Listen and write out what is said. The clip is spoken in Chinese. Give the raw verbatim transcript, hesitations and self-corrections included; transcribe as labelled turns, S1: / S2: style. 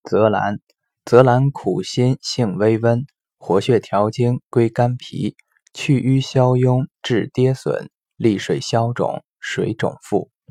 S1: 泽兰，泽兰苦辛，性微温，活血调经，归肝脾，去瘀消痈，治跌损，利水消肿，水肿腹。